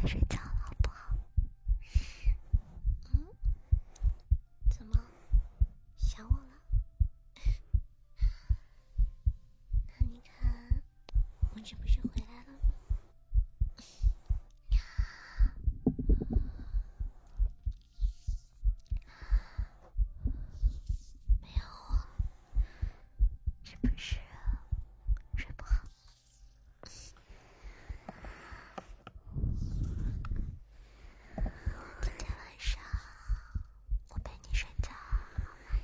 睡觉了，好不好？怎么想我了？那你看，我这不是回来了吗？没有我，是不是睡不好？今天晚上我陪你睡觉，好吗？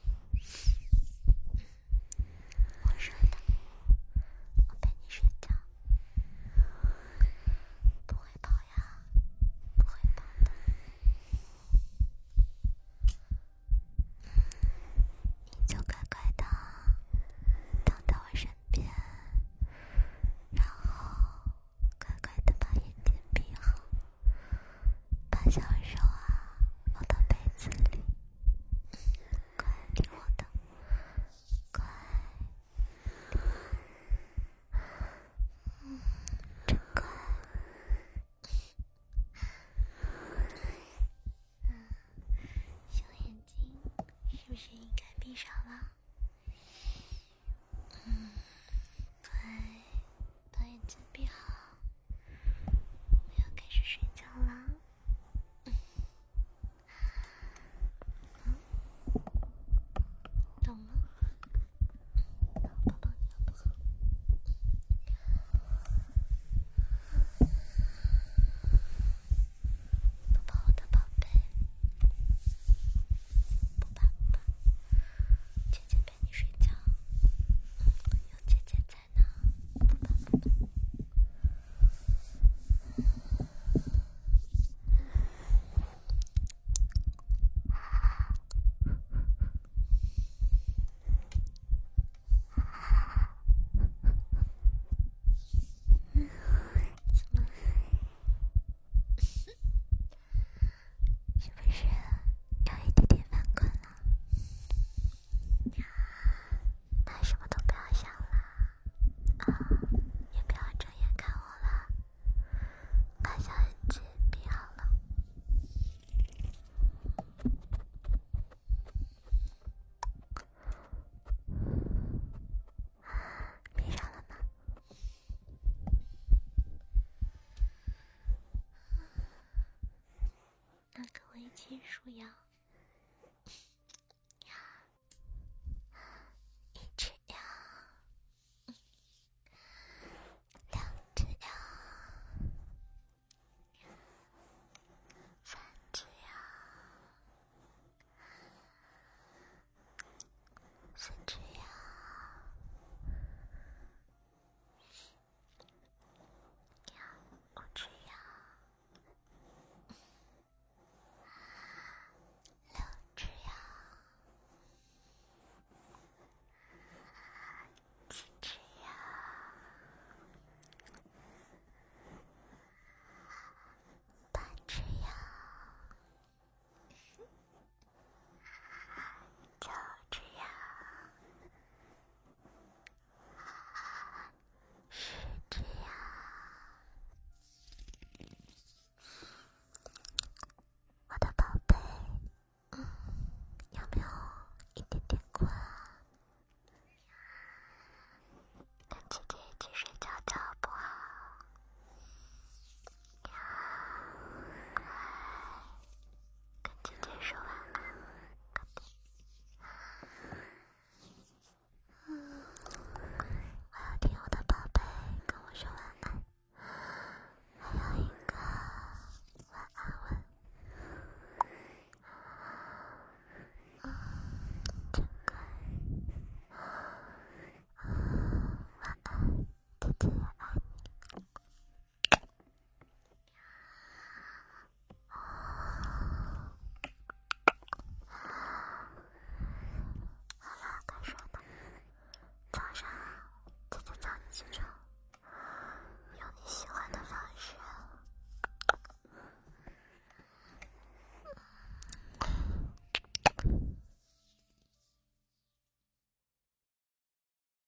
我说的，我陪你睡觉，不会跑呀，不会跑的。你就乖乖的躺在我身边，然后乖乖的把眼睛闭好，把小手放到被子里，乖，听我的，乖，真乖。小眼睛是不是应该闭上了？乖，把眼睛闭好，我要开始睡觉啦。懂吗？抱抱你好不好？抱抱我的宝贝，不怕不怕，姐姐陪你睡觉，有姐姐在呢，不怕不怕。怎么？是不是有一点点犯困了？那什么都不要想了，也不要睁眼看我了，把小眼睛闭好了。闭上了吗？那跟我一起数羊。